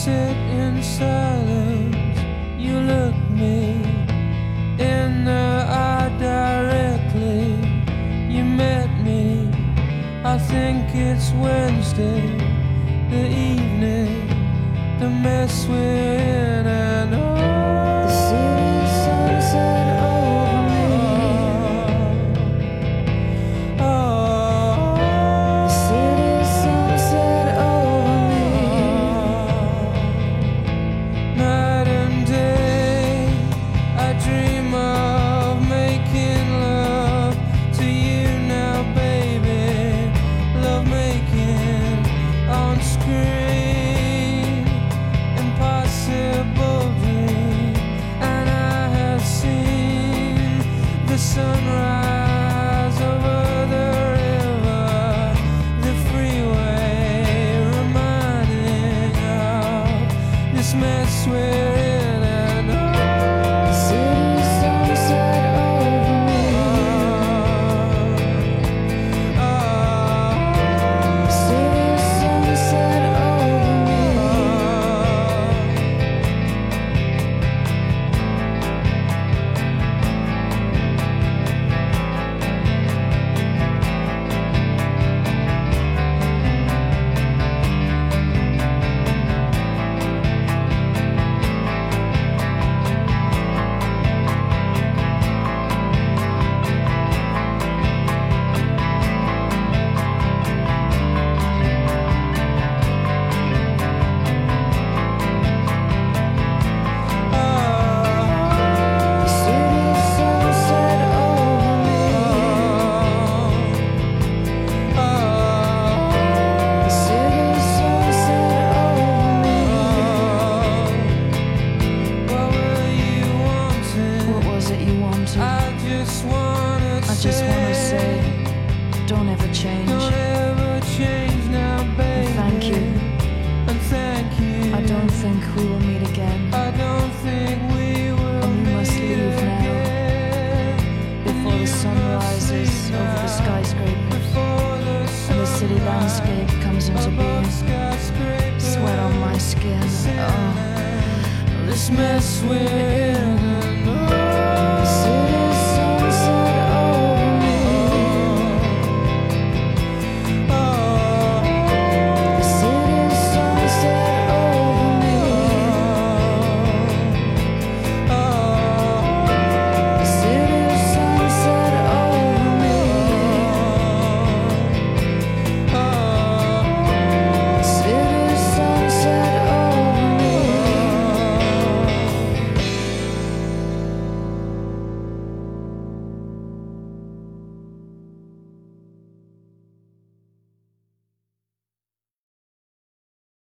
sit in silence, you look me in the eye directly. You met me, I think it's Wednesday, the evening, the mess we're in, and The city sunset over me. The city sunset over me. Night and day, I dream of making love to you now, baby. Love making on screen, impossible dream. And I have seen the sunrise over the river, the freeway, reminding of this mess we're in, and The city sunset over me. The city sunset over me. The city sunset over me. The city sunset over me. What were you wanting? What was it you wanted? I just wanna say, don't ever change. don't ever change now, baby. Thank you. And thank you. I don't think we will meet again. I don't think we will And you must meet leave now, again. before the sun rises over the skyscrapers Before the and the city landscape comes into being. skyscraper. Sweat on my skin. Oh. This mess we're in.